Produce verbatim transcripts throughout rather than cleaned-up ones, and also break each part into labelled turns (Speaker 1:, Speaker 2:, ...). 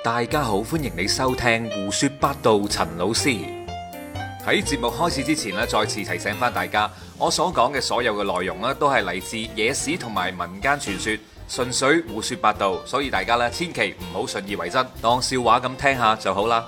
Speaker 1: 大家好，歡迎你收聽胡說八道。陳老師喺節目開始之前咧，再次提醒翻大家，我所講嘅所有嘅內容咧，都係嚟自野史同埋民間傳說，純粹胡說八道，所以大家咧千祈唔好信以為真，當笑話咁聽下就好啦。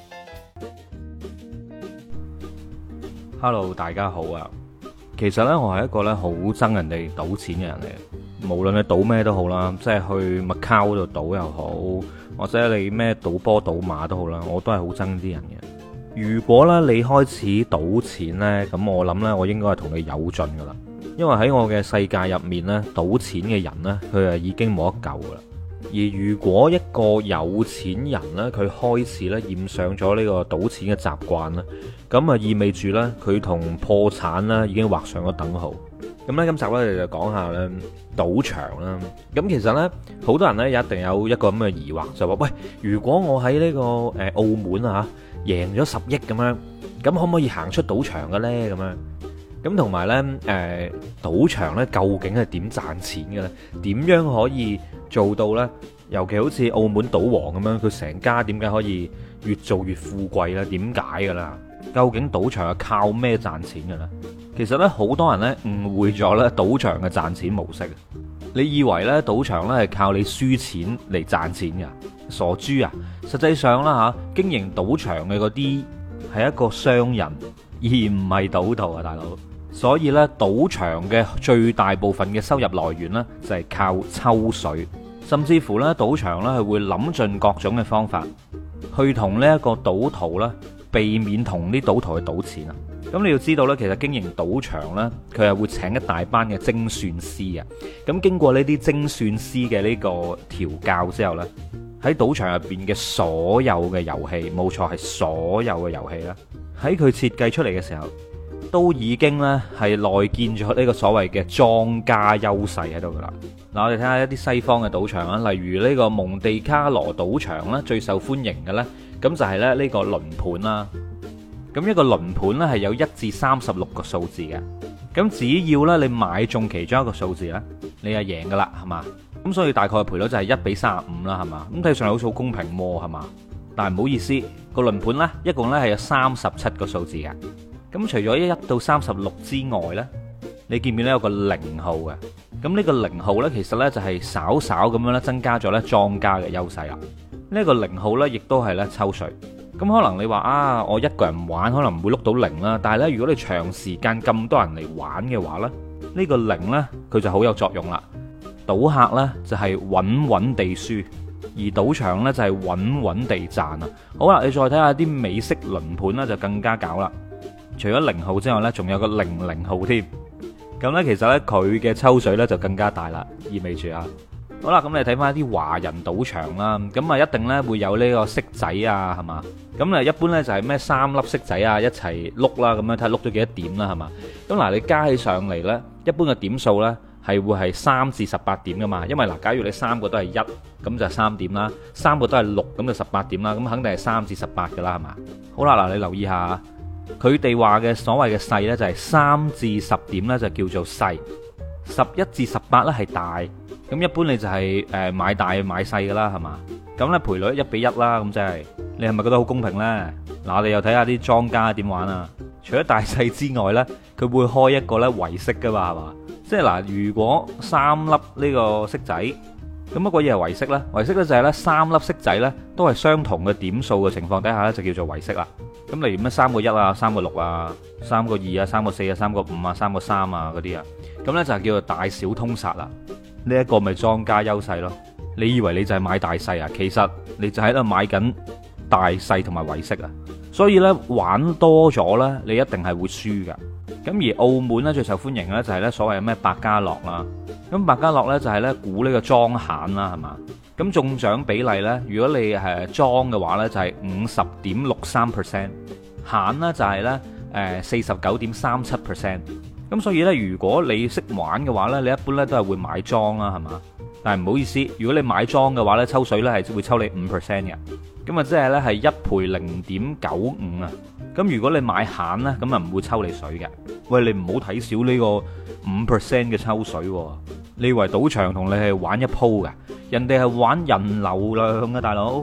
Speaker 2: Hello， 大家好啊！其實呢，我係一個咧好憎人哋賭錢嘅人嚟嘅，無論你賭咩都好啦，即係去麥卡嗰度賭又好，或者你咩賭波賭馬都好啦，我都係好憎啲人嘅。如果咧你開始賭錢呢，咁我諗呢，我應該係同你有盡噶啦，因為喺我嘅世界入面呢，賭錢嘅人呢，佢係已經冇得救噶啦。而如果一個有錢人呢，佢開始咧染上咗呢個賭錢嘅習慣呢，咁啊意味住呢，佢同破產呢已經畫上咗等號。咁呢，今集呢，我哋就講下呢賭場啦。咁其實呢，好多人呢，一定有一個咁嘅疑惑，就話喂，如果我喺呢個誒澳門啊贏咗十億咁樣，咁可唔可以行出賭場嘅呢？咁樣咁同埋呢，誒賭場呢，究竟係點賺錢嘅呢？點樣可以做到呢？尤其好似澳門賭王咁樣，佢成家點解可以越做越富貴呢？點解噶啦？究竟賭場係靠咩賺錢嘅咧？其實呢，好多人呢誤會咗呢賭場嘅賺錢模式。你以為呢賭場呢係靠你輸錢嚟賺錢㗎？傻豬啊！實際上啦嚇，經營賭場嘅嗰啲係一個商人，而唔係賭徒啊，大佬。所以呢，賭場嘅最大部分嘅收入來源呢，就係靠抽水，甚至乎呢，賭場呢係會諗盡各種嘅方法，去同呢一個賭徒呢避免同啲賭徒去賭錢啊。咁你要知道呢，其實經營賭場呢，佢係會請一大班嘅精算師嘅。咁經過呢啲精算師嘅呢個調教之後呢，喺賭場入邊嘅所有嘅遊戲，冇錯係所有嘅遊戲啦，喺佢設計出嚟嘅時候，都已經咧係內建咗呢個所謂嘅莊家優勢喺度噶啦。嗱，我哋睇下一啲西方嘅賭場啊，例如呢個蒙地卡羅賭場啦，最受歡迎嘅呢，咁就係咧呢個輪盤啦。咁一個輪盤呢係有一至三十六個數字嘅，咁只要呢你買中其中一個數字呢，你就贏噶啦，係嘛？咁所以大概嘅賠率就係一比三十五啦，係嘛？咁睇上嚟好似好公平喎，係嘛？但係唔好意思，個輪盤呢一共呢係有三十七個數字嘅。咁除咗一到三十六之外呢，你見唔見咧有個零號嘅？咁呢個零號呢，其實呢就係稍稍咁樣咧增加咗呢莊家嘅優勢啦。呢個零號呢，亦都係呢抽稅。咁可能你話啊，我一個人玩可能唔會碌到零啦，但係呢，如果你長時間咁多人嚟玩嘅話呢，呢個零呢，佢就好有作用啦。賭客呢，就係穩穩地輸，而賭場呢，就係穩穩地賺啊。好啦，你再睇下啲美式輪盤呢，就更加搞啦。除咗零號之外呢，仲有個零零號添。咁呢，其實呢，佢嘅抽水呢就更加大啦，意味住啊。好啦，咁你睇翻一啲華人賭場啦，咁啊一定呢會有呢個骰仔啊，係嘛？咁啊一般呢就係咩三粒骰仔啊一齊碌啦，咁樣睇下碌咗幾多點啦，係嘛？咁嗱，你加起上嚟呢，一般嘅點數呢係會係三至十八點噶嘛，因為嗱，假如你三個都係一，咁就三點啦；三個都係六，咁就十八點啦。咁肯定係三至十八噶啦，係嘛？好啦，嗱，你留意下，佢哋話嘅所謂嘅細呢，就係三至十點呢，就叫做細，十一至十八呢係大。咁一般你就係誒買大買細噶啦，係嘛？咁呢賠率一比一啦，咁即係你係咪覺得好公平呢？嗱，我哋又睇下啲莊家點玩啊！除咗大細之外呢，佢會開一個呢圍骰噶嘛，係嘛？即係嗱，如果三粒呢個骰仔，咁乜鬼嘢係圍骰呢？圍骰呢就係呢三粒骰仔呢都係相同嘅點數嘅情況底下呢，就叫做圍骰啦。咁例如咩三個一啊、三個六啊、三個二啊、三個四啊、三個五啊、三個三啊嗰啲啊，咁呢就叫做大小通殺啦。呢一個咪莊家優勢咯。你以為你就係買大細啊？其實你就喺度買緊大細同埋圍骰啊。所以呢，玩多咗呢，你一定係會輸噶。咁而澳門呢，最受歡迎嘅呢，就係呢所謂咩百家樂啦。咁百家樂呢，就係呢估呢個莊閒啦，係嘛？咁中獎比例呢，如果你係莊嘅話呢，就係五十點六三 percent， 閒呢就係呢誒四十九點三七 percent。咁所以呢，如果你識玩嘅話呢，你一般呢都係會買莊啦，係嘛？但係唔好意思，如果你買莊嘅話呢，抽水呢係會抽你五 percent 嘅。咁啊，即係呢係一賠零點九五啊。咁如果你買閒呢，咁啊唔會抽你水嘅。喂，你唔好睇少呢個五 percent 嘅抽水喎。你以為賭場同你係玩一鋪㗎？人哋係玩人流量嘅，大佬。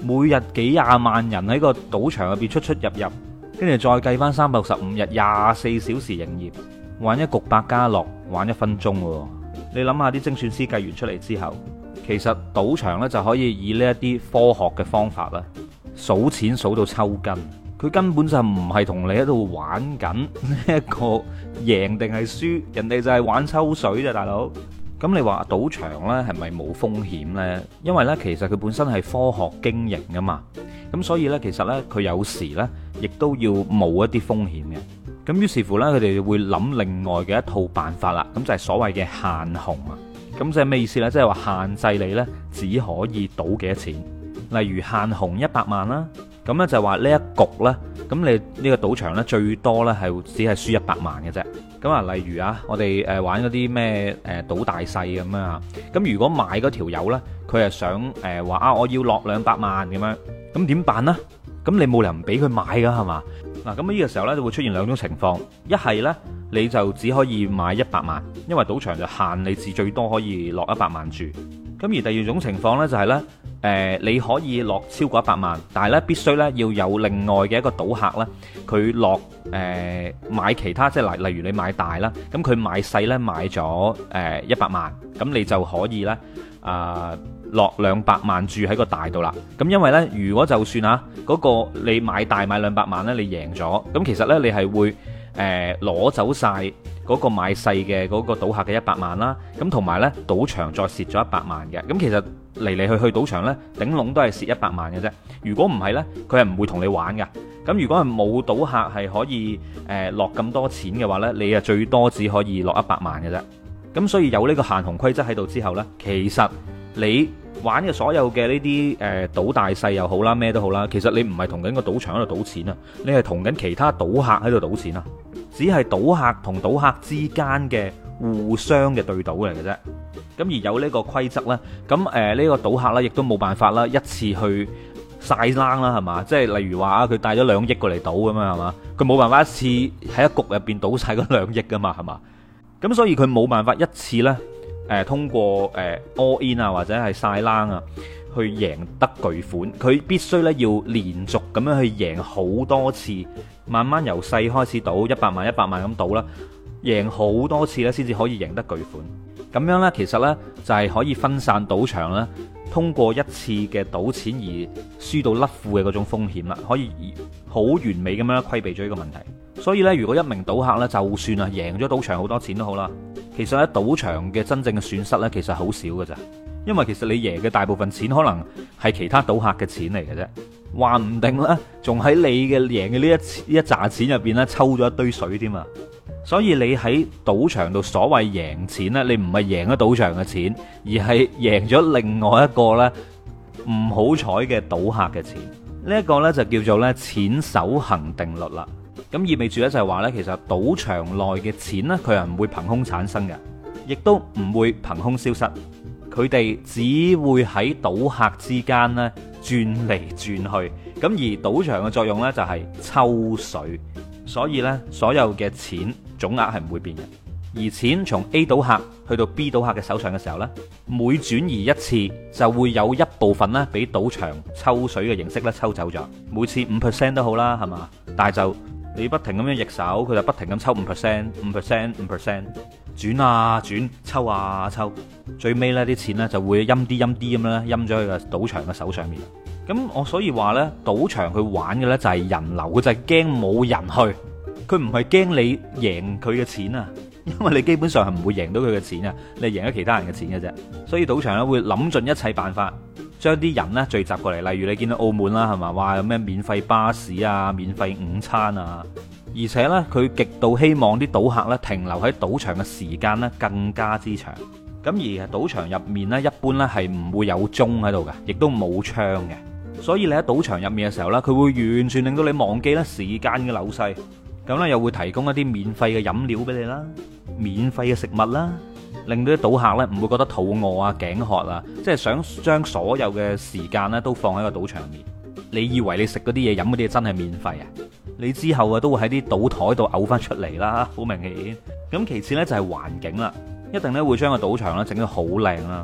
Speaker 2: 每日幾廿萬人喺個賭場入邊出出入入，跟住再計翻三百六十五日，廿四小時營業，玩一局百家樂，玩一分鐘喎。你諗下啲精算師計完出嚟之後，其實賭場呢就可以以呢一啲科學嘅方法啦，數錢數到抽筋。佢根本就唔係同你喺度玩緊呢一個贏定係輸，人哋就係玩抽水啫，大佬。咁你話賭場呢係咪冇風險呢？因為呢，其實佢本身係科學經營噶嘛，咁所以呢，其實呢，佢有時呢亦都要冒一啲風險嘅。咁於是乎呢，佢哋會諗另外嘅一套辦法啦。咁就係所謂嘅限紅啊。咁即係咩意思呢？即係話限制你呢，只可以賭幾多錢。例如限紅一百萬啦。咁咧就係話呢一局呢，咁你呢個賭場呢，最多呢係只係輸一百萬嘅啫。咁啊，例如啊，我哋誒玩嗰啲咩誒賭大細咁樣啊。咁如果買嗰條友呢，佢係想誒話啊，我要落兩百萬咁樣，咁點辦呢？咁你冇理由唔俾佢買噶係嘛？嗱，咁呢個時候呢，就會出現兩種情況，一係呢，你就只可以買一百萬，因為賭場就限你至最多可以落一百萬注。咁而第二種情況呢，就係呢，誒你可以落超過一百萬，但係呢必須呢要有另外嘅一個賭客呢，佢落誒買其他，即係例例如你買大啦，咁佢買細呢買咗誒一百萬，咁你就可以呢啊落兩百萬注喺個大度啦。咁因為呢，如果就算啊嗰個你買大買兩百萬呢，你贏咗，咁其實呢，你係會誒攞走晒嗰個買細嘅嗰個賭客嘅一百萬啦，咁同埋呢賭場再蝕咗一百萬嘅，咁其實嚟嚟去去賭場呢，頂籠都係蝕一百萬嘅啫。如果唔係呢，佢係唔會同你玩㗎。咁如果係冇賭客係可以誒落咁多錢嘅話呢，你啊最多只可以落一百萬嘅啫。咁所以有呢個限紅規則喺度之後呢，其實你玩嘅所有嘅呢啲誒賭大細又好啦，咩都好啦，其實你唔係同緊個賭場喺度賭錢啊，你係同緊其他賭客喺度賭錢啊。只係賭客同賭客之間嘅互相嘅對賭嚟嘅啫。咁而有呢個規則呢，咁誒呢個賭客呢亦都冇辦法啦，一次去晒冷啦，係嘛？即係例如話啊，佢帶咗兩億過嚟賭咁樣係嘛？佢冇辦法一次喺一局入邊賭晒嗰兩億噶嘛，係嘛？咁所以佢冇辦法一次呢，誒通過誒 all in 啊或者係晒冷啊去贏得巨款，佢必須呢要連續咁樣去贏好多次。慢慢由細開始賭一百萬一百萬咁賭啦，贏好多次咧，先至可以贏得巨款。咁樣呢，其實呢，就係可以分散賭場啦，通過一次嘅賭錢而輸到甩褲嘅嗰種風險啦，可以好完美咁樣規避咗呢個問題。所以呢，如果一名賭客呢，就算啊贏咗賭場好多錢都好啦，其實喺賭場嘅真正嘅損失呢，其實好少㗎咋，因為其實你贏嘅大部分錢可能係其他賭客嘅錢嚟嘅啫。話唔定咧，仲喺你嘅贏嘅呢一一紮錢入邊咧，抽咗一堆水添啊！所以你喺賭場度所謂贏錢咧，你唔係贏咗賭場嘅錢，而係贏咗另外一個咧唔好彩嘅賭客嘅錢。呢一個咧就叫做咧錢守恒定律啦。咁意味住咧就係話咧，其實賭場內嘅錢咧，佢係唔會憑空產生嘅，亦都唔會憑空消失。佢哋只會喺賭客之間咧轉嚟轉去，咁而賭場嘅作用呢，就係抽水，所以呢，所有嘅錢總額係唔會變嘅。而錢從 A 賭客去到 B 賭客嘅手上嘅時候呢，每轉移一次就會有一部分呢俾賭場抽水嘅形式咧抽走咗，每次五 percent 都好啦，係嘛？但係就你不停咁樣逆手，佢就不停咁抽五 percent、五 percent、五 percent。轉啊轉，抽啊抽，最尾呢啲錢呢就會陰啲陰啲咁樣咧，陰咗喺個賭場嘅手上面。咁我所以話呢，賭場佢玩嘅呢就係人流，佢就係驚冇人去，佢唔係驚你贏佢嘅錢啊，因為你基本上係唔會贏到佢嘅錢啊，你係贏咗其他人嘅錢嘅啫。所以賭場呢會諗盡一切辦法，將啲人呢聚集過嚟。例如你見到澳門啦，係嘛，話有咩免費巴士啊，免費午餐啊。而且呢，佢極度希望啲賭客呢停留喺賭場嘅時間呢更加之長。咁而賭場入面呢，一般呢係唔會有鐘喺度嘅，亦都冇槍嘅。所以你喺賭場入面嘅時候呢，佢會完全令到你忘記咧時間嘅流逝。咁呢又會提供一啲免費嘅飲料俾你啦，免費嘅食物啦，令到啲賭客呢唔會覺得肚餓啊、頸渴啊，即係想將所有嘅時間呢都放喺個賭場入面。你以為你食嗰啲嘢、飲嗰啲嘢真係免費啊？你之後啊都會喺啲賭台度嘔翻出嚟啦，好明顯。咁其次呢，就係環境啦，一定咧會將個賭場咧整得好靚啦。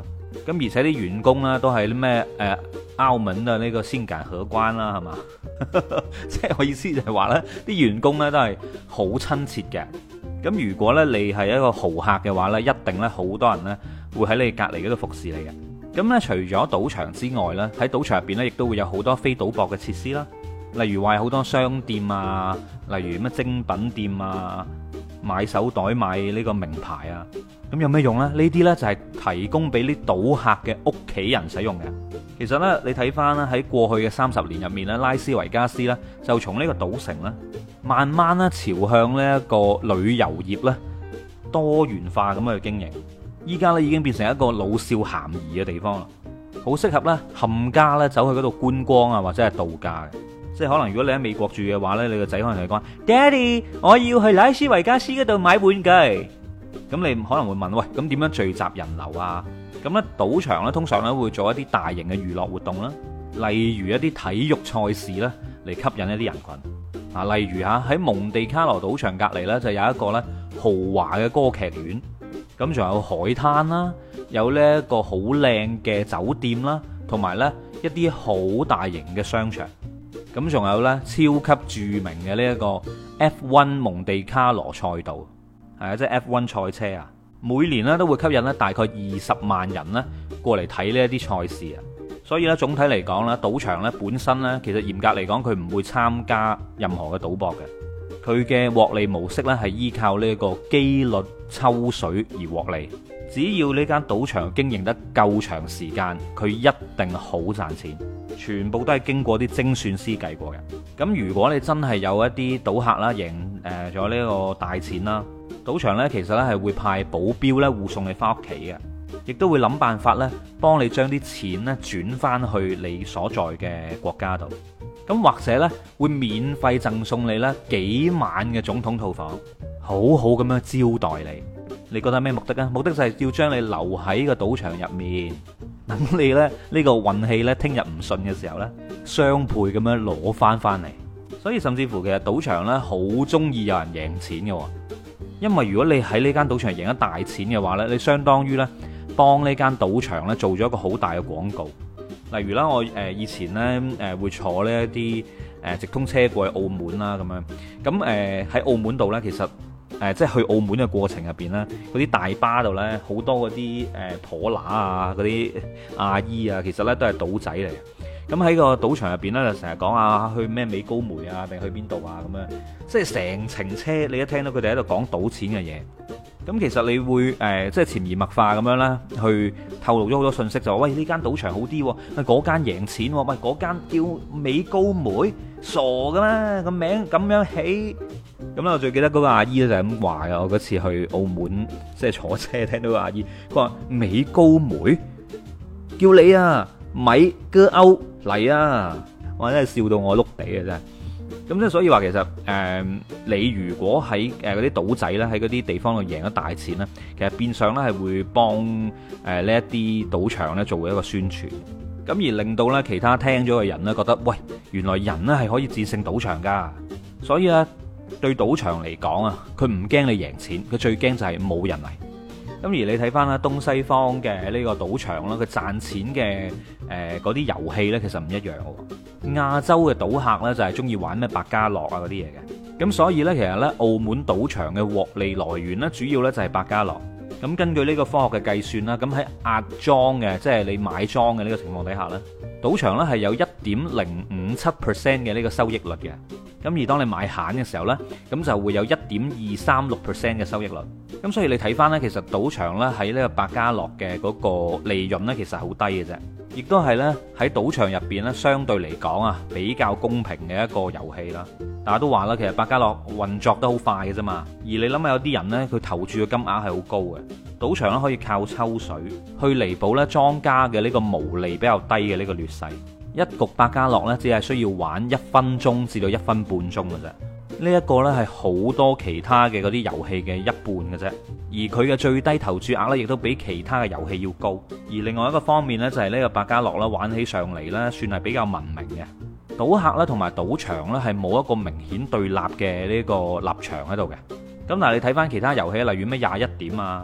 Speaker 2: 咁而且啲員工呢，都係啲咩誒澳門嘅呢個先揀荷官啦，係嘛？即係我意思就係話呢啲員工呢，都係好親切嘅。咁如果呢，你係一個豪客嘅話呢，一定呢，好多人呢會喺你隔離嗰度服侍你嘅。咁呢，除咗賭場之外呢，喺賭場入邊呢，亦都會有好多非賭博嘅設施啦。例如話有好多商店啊，例如咩精品店啊，買手袋買呢個名牌啊，咁有咩用呢？呢啲呢，就係提供俾啲賭客嘅屋企人使用嘅。其實呢，你睇翻咧喺過去嘅三十年入面咧，拉斯維加斯呢，就從呢個賭城呢，慢慢咧朝向呢一個旅遊業呢多元化咁去經營。依家呢，已經變成一個老少咸宜嘅地方啦，好適合呢冚家呢走去嗰度觀光啊，或者係度假嘅。即係可能如果你喺美國住嘅話呢，你個仔可能同你講：Daddy，我要去拉斯維加斯嗰度買玩具。咁你可能會問：喂，咁點樣聚集人流啊？咁呢賭場呢，通常呢會做一啲大型嘅娛樂活動啦，例如一啲體育賽事啦，嚟吸引一啲人群。啊，例如嚇喺蒙地卡羅賭場隔離呢，就有一個呢豪華嘅歌劇院，咁仲有海灘啦，有呢一個好靚嘅酒店啦，同埋呢一啲好大型嘅商場。咁仲有呢超級著名嘅呢一個 F 一 蒙地卡羅賽道，係啊，即係 F 一 賽車啊，每年呢都會吸引呢大概二十萬人呢過嚟睇呢一啲賽事啊。所以呢，總體嚟講呢，賭場呢本身呢，其實嚴格嚟講，佢唔會參加任何嘅賭博嘅，佢嘅獲利模式呢係依靠呢一個機率抽水而獲利。只要呢間賭場經營得夠長時間，佢一定好賺錢。全部都係經過啲精算師計過嘅。咁如果你真係有一啲賭客啦，贏誒咗呢個大錢啦，賭場呢其實呢係會派保鏢呢護送你翻屋企嘅，亦都會諗辦法呢幫你將啲錢呢轉翻去你所在嘅國家度。咁或者呢會免費贈送你呢幾晚嘅總統套房，好好咁樣招待你。你覺得咩目的啊？目的就係要將你留喺個賭場入面，等你咧呢個運氣呢聽日唔順嘅時候呢，雙倍咁樣攞翻翻嚟。所以甚至乎其實賭場呢好中意有人贏錢嘅，因為如果你喺呢間賭場贏咗大錢嘅話呢，你相當於呢幫呢間賭場呢做咗一個好大嘅廣告。例如啦，我誒以前呢誒會坐呢一啲誒直通車過去澳門啦咁樣，咁誒喺澳門度呢，其實誒即係去澳門嘅過程入邊呢，嗰啲大巴度呢，好多嗰啲誒婆乸啊，嗰啲阿姨啊，其實呢都係賭仔嚟嘅。咁喺個賭場入邊呢，就成日講啊去咩美高梅啊，定去邊度啊咁樣，即係成程車你一聽到佢哋喺度講賭錢嘅嘢。咁其實你會誒、呃、即係潛移默化咁樣啦，去透露咗好多信息，就話喂呢間賭場好啲，喂嗰間贏錢，喂嗰間叫美高梅，傻噶咩個名咁樣起？咁咧我最記得嗰個阿姨咧就係咁話嘅。我嗰次去澳門即係坐車聽到個阿姨，佢話美高梅叫你啊米哥歐嚟啊！我真係笑到我碌地嘅真係。咁即係所以話其實誒、呃，你如果喺誒嗰啲賭仔咧，喺嗰啲地方度贏咗大錢咧，其實變相咧係會幫誒呢一啲賭場咧做一個宣傳，咁而令到咧其他聽咗嘅人咧覺得，喂，原來人咧係可以戰勝賭場噶。所以咧對賭場嚟講啊，佢唔驚你贏錢，佢最驚就係冇人嚟。咁而你睇翻啦，東西方嘅呢個賭場啦，佢賺錢嘅誒嗰啲遊戲呢，其實唔一樣嘅。亞洲嘅賭客呢，就係中意玩咩百家樂啊嗰啲嘢嘅，咁所以呢，其實呢，澳門賭場嘅獲利來源呢，主要呢就係百家樂。咁根據呢個科學嘅計算啦，咁喺壓莊嘅，即係你買莊嘅呢個情況底下呢，賭場呢係有一點零五七 percent 嘅呢個收益率嘅。咁而當你買閒嘅時候呢，咁就會有一點二三六 percent 嘅收益率。咁所以你睇翻呢，其實賭場呢喺呢個百家樂嘅嗰個利潤呢，其實係好低嘅啫。亦都係呢喺賭場入邊呢，相對嚟講啊，比較公平嘅一個遊戲啦。大家都話啦，其實百家樂運作得好快嘅啫嘛。而你諗下，有啲人呢，佢投注嘅金額係好高嘅，賭場呢可以靠抽水去彌補呢莊家嘅呢個毛利比較低嘅呢個劣勢。一局百家樂呢，只係需要玩一分鐘至到一分半鐘嘅啫。呢一個呢係好多其他嘅嗰啲遊戲嘅一半嘅啫，而佢嘅最低投注額呢，亦都比其他嘅遊戲要高。而另外一個方面呢，就係呢個百家樂啦，玩起上嚟呢，算係比較文明嘅。賭客呢同埋賭場呢，係冇一個明顯對立嘅呢個立場喺度嘅。咁但係你睇翻其他遊戲，例如咩廿一點啊、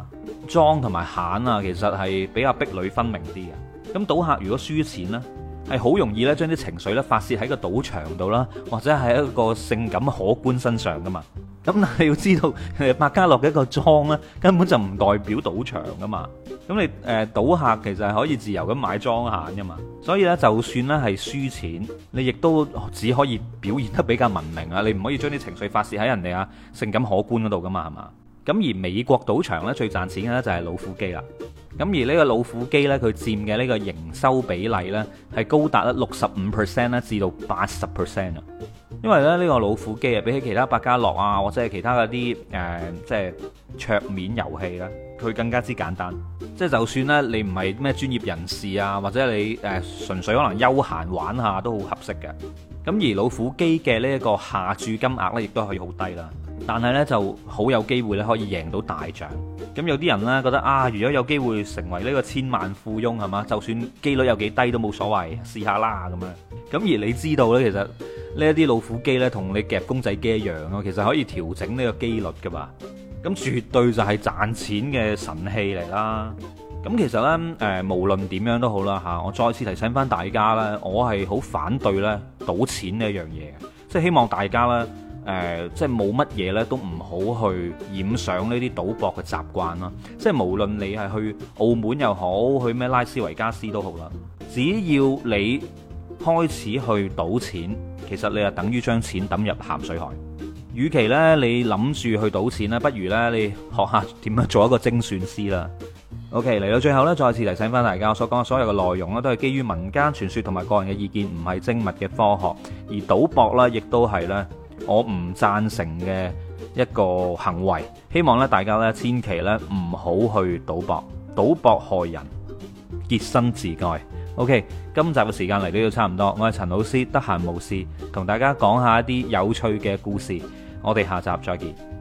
Speaker 2: 莊同埋閒啊，其實係比較壁壘分明啲嘅。咁賭客如果輸錢呢，係好容易咧將啲情緒咧發泄喺個賭場度啦，或者係一個性感可觀身上噶嘛。咁你要知道，百家樂嘅一個莊咧，根本就唔代表賭場噶嘛。咁你誒賭客其實係可以自由咁買莊閒噶嘛。所以咧，就算咧係輸錢，你亦都只可以表現得比較文明啊。你唔可以將啲情緒發泄喺人哋啊性感可觀嗰度噶嘛，係嘛？咁而美國賭場咧最賺錢嘅咧就係老虎機啦。咁而呢個老虎機咧，佢佔嘅呢個營收比例咧係高達咧六十五 percent 咧至到八十 percent 啊。因為咧呢個老虎機啊，比起其他百家樂啊或者係其他嗰啲誒即係桌面遊戲咧，佢更加之簡單。即係就算咧你唔係咩專業人士啊，或者你誒純粹可能休閒玩下都好合適嘅。咁而老虎機嘅呢一個下注金額咧，亦都可以好低啦。但係咧就好有機會咧可以贏到大獎。咁有啲人咧覺得啊，如果有機會成為呢個千萬富翁係嘛，就算機率有幾低都冇所謂，試下啦咁樣。咁而你知道咧，其實呢一啲老虎機咧同你夾公仔機一樣咯，其實可以調整呢個機率噶嘛。咁絕對就係賺錢嘅神器嚟啦。咁其實呢，誒無論點樣都好啦嚇，我再次提醒翻大家呢，我係好反對呢賭錢呢一樣嘢嘅，即係希望大家呢，誒即係冇乜嘢呢都唔好去染上呢啲賭博嘅習慣啦。即係無論你係去澳門又好，去咩拉斯維加斯都好啦，只要你開始去賭錢，其實你就等於將錢抌入鹹水海。與其呢，你諗住去賭錢呢，不如呢，你學下點樣做一個精算師啦。OK，嚟到最後呢，再次提醒翻大家，我所講嘅所有嘅內容呢，都係基於民間傳說同埋個人嘅意見，唔係精密嘅科學。而賭博呢，亦都係呢，我唔贊成嘅一個行為。希望呢，大家呢，千祈呢，唔好去賭博，賭博害人，潔身自愛。OK，今集嘅時間嚟到都差唔多，我係陳老師，得閒無事同大家講下一啲有趣嘅故事。我哋下集再見。